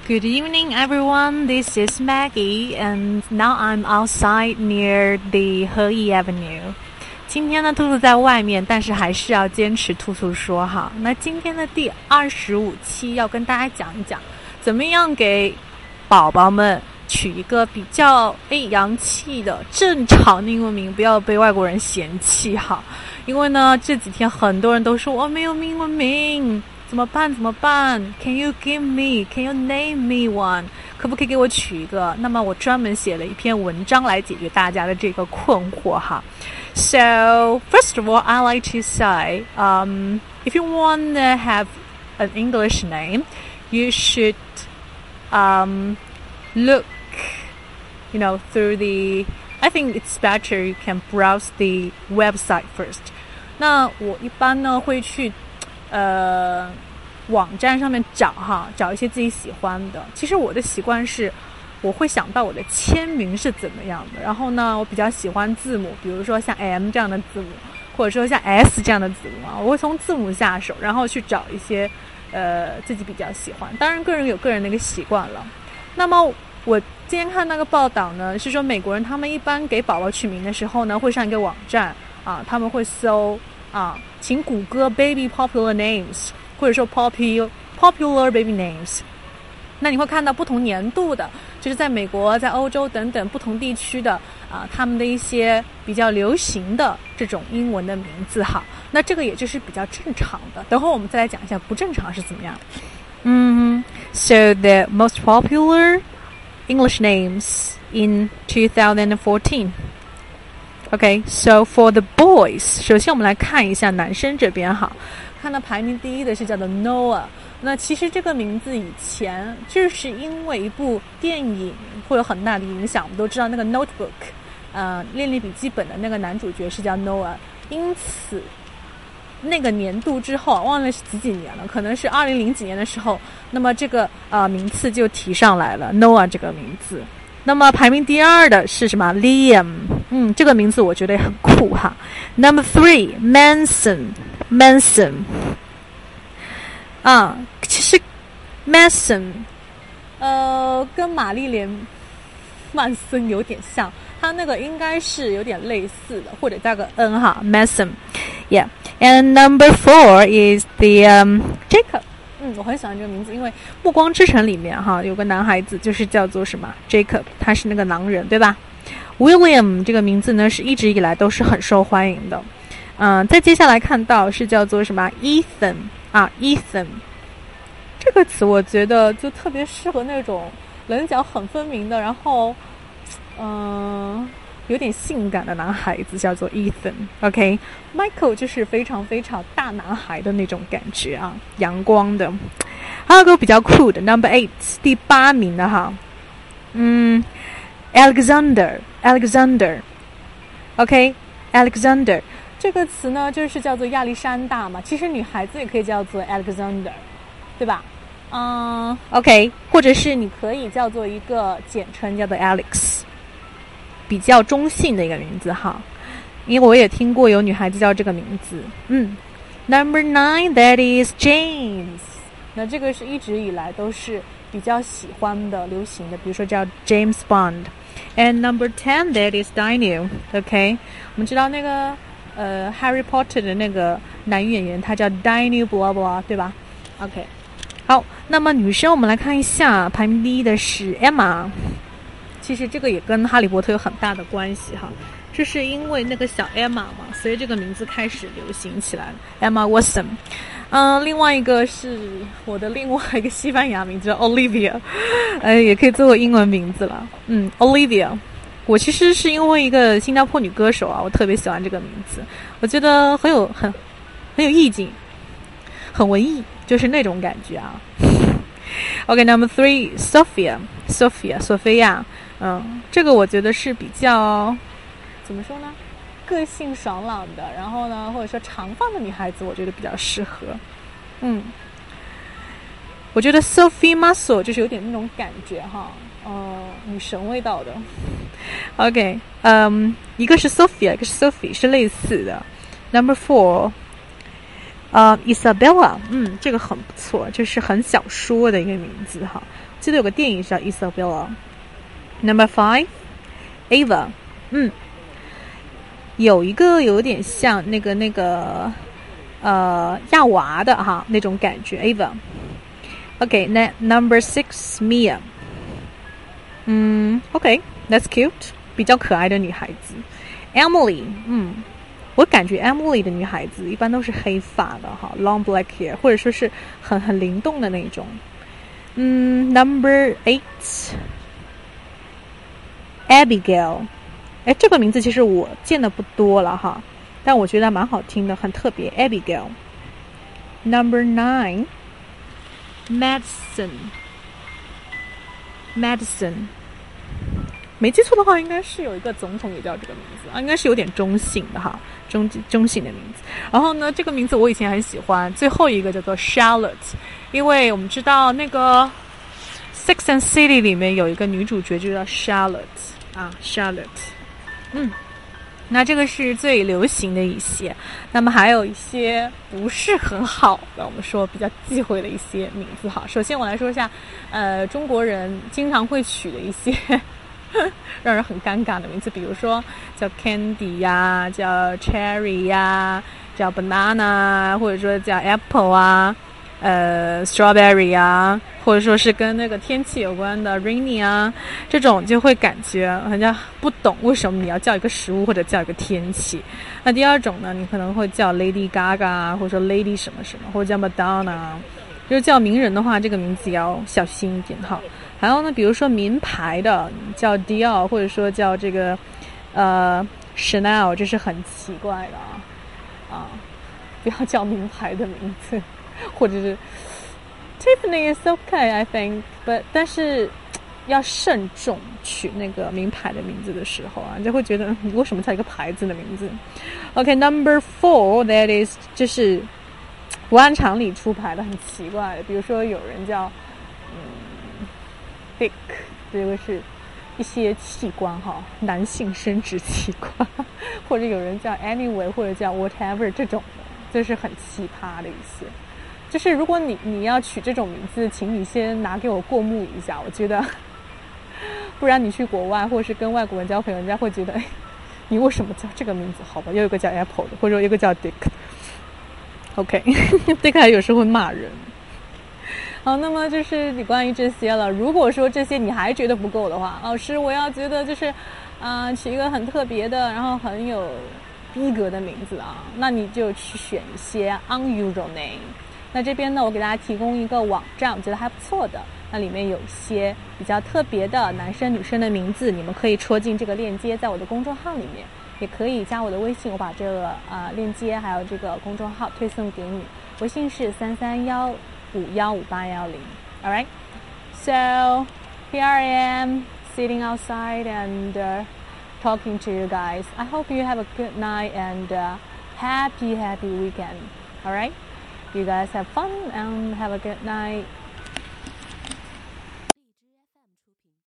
Good evening, everyone. This is Maggie, and now I'm outside near the Heyi Avenue. 今天呢，兔兔在外面，但是还是要坚持兔兔说哈。那今天的第25期要跟大家讲一讲，怎么样给宝宝们取一个比较洋气的正常的英文名，不要被外国人嫌弃哈。因为呢，这几天很多人都说我没有英文名。怎么办 Can you give me? Can you name me one? 可不可以给我取一个？那么我专门写了一篇文章来解决大家的这个困惑哈。So, first of all, I like to say, if you want to have an English name, you should look, through I think it's better you can browse the website first. 那我一般呢会去网站上面找一些自己喜欢的。其实我的习惯是我会想到我的签名是怎么样的，然后呢我比较喜欢字母，比如说像 M 这样的字母，或者说像 S 这样的字母啊，我会从字母下手，然后去找一些自己比较喜欢。当然个人有个人的一个习惯了。那么我今天看那个报道呢，是说美国人他们一般给宝宝取名的时候呢，会上一个网站啊，他们会搜请谷歌 baby popular names 或者说 popular baby names。 那你会看到不同年度的，就是在美国在欧洲等等不同地区的他们的一些比较流行的这种英文的名字哈。那这个也就是比较正常的，等会我们再来讲一下不正常是怎么样。So the most popular English names in 2014。Okay, so for the boys, 首先我们来看一下男生这边哈，看到排名第一的是叫做 Noah。 那其实这个名字以前就是因为一部电影会有很大的影响，我们都知道那个 Notebook， 练笔记本的那个男主角是叫 Noah， 因此那个年度之后忘了是几年了，可能是2000几年的时候，那么这个名次就提上来了 Noah 这个名字。那么排名第二的是什么 Liam， 这个名字我觉得也很酷哈。Number 3 Manson， 其实 Manson 跟玛丽莲曼森有点像，他那个应该是有点类似的，或者加个 N 哈 Manson yeah. And number 4 is the Jacob。我很喜欢这个名字，因为《暮光之城》里面哈有个男孩子就是叫做什么 Jacob， 他是那个狼人对吧。 William 这个名字呢是一直以来都是很受欢迎的。再接下来看到是叫做什么 Ethan Ethan 这个词我觉得就特别适合那种棱角很分明的，然后有点性感的男孩子，叫做 Ethan。OK， Michael 就是非常非常大男孩的那种感觉啊，阳光的。还有个比较酷的 Number 8， 第8名的哈Alexander OK Alexander 这个词呢就是叫做亚历山大嘛，其实女孩子也可以叫做 Alexander 对吧。OK， 或者是你可以叫做一个简称叫做 Alex，比较中性的一个名字哈，因为我也听过有女孩子叫这个名字。Number 9 that is James， 那这个是一直以来都是比较喜欢的流行的，比如说叫 James Bond。 And number 10 that is Daniel。 OK， 我们知道那个Harry Potter 的那个男演员他叫 Daniel blah blah 对吧。 OK， 好，那么女生我们来看一下，排名第一的是 Emma。其实这个也跟哈利波特有很大的关系哈，这是因为那个小 Emma 嘛，所以这个名字开始流行起来了 Emma Watson。 另外一个是我的另外一个西班牙名字叫 Olivia， 也可以作为英文名字了。Olivia 我其实是因为一个新加坡女歌手我特别喜欢这个名字，我觉得很有意境，很文艺，就是那种感觉啊。OK Number 3 Sophia， 这个我觉得是比较怎么说呢，个性爽朗的，然后呢或者说长发的女孩子我觉得比较适合。我觉得 Sophie Muscle 就是有点那种感觉哈，女神味道的。OK， 一个是 Sophia， 一个是 Sophie， 是类似的。Number 4Isabella， 这个很不错，就是很小说的一个名字哈。 记得有个电影叫 Isabella。Number 5 Ava， 有一个有点像那个亚娃的哈那种感觉 Ava。OK， 那 Number 6 Mia， OK that's cute， 比较可爱的女孩子。Emily， 我感觉 Emily 的女孩子一般都是黑发的哈 ，long black hair， 或者说是很灵动的那种。Number 8 Abigail， 这个名字其实我见的不多了哈，但我觉得蛮好听的，很特别 Abigail。Number 9 Madison， 没记错的话，应该是有一个总统也叫这个名字啊，应该是有点中性的哈，中性的名字。然后呢，这个名字我以前很喜欢。最后一个叫做 Charlotte， 因为我们知道那个 Sex and City 里面有一个女主角就叫 Charlotte 啊 ，Charlotte。那这个是最流行的一些。那么还有一些不是很好的，我们说比较忌讳的一些名字哈。首先我来说一下，中国人经常会取的一些让人很尴尬的名字，比如说叫 Candy 呀，叫 Cherry 呀，叫 Banana， 或者说叫 Apple 啊，Strawberry 啊，或者说是跟那个天气有关的 Rainy 啊，这种就会感觉人家不懂为什么你要叫一个食物或者叫一个天气。那第二种呢，你可能会叫 Lady Gaga， 或者说 Lady 什么什么，或者叫 Madonna。就是叫名人的话，这个名字也要小心一点哈。还有呢，比如说名牌的叫 Dior， 或者说叫这个Chanel， 这是很奇怪的啊，不要叫名牌的名字，或者是 Tiffany is okay I think， 但是要慎重取那个名牌的名字的时候啊，你就会觉得你为什么叫一个牌子的名字 ？OK，Number 4 that is 就是不按常理出牌的，很奇怪的，比如说有人叫Dick， 这个是一些器官哈，男性生殖器官，或者有人叫 Anyway， 或者叫 Whatever 这种的，这是很奇葩的一些。就是如果你要取这种名字，请你先拿给我过目一下，我觉得，不然你去国外或者是跟外国人交朋友，人家会觉得，你为什么叫这个名字？好吧，又有一个叫 Apple 的，或者有一个叫 Dick。OK，Dick 还有时候会骂人。好，那么就是你关于这些了。如果说这些你还觉得不够的话，老师我要觉得就是取一个很特别的，然后很有逼格的名字啊，那你就去选一些 unusual name。那这边呢，我给大家提供一个网站，我觉得还不错的。那里面有一些比较特别的男生女生的名字，你们可以戳进这个链接，在我的公众号里面，也可以加我的微信，我把这个链接还有这个公众号推送给你。微信是331515810。All right, so here I am sitting outside and talking to you guys. I hope you have a good night and happy weekend. All right, you guys have fun and have a good night.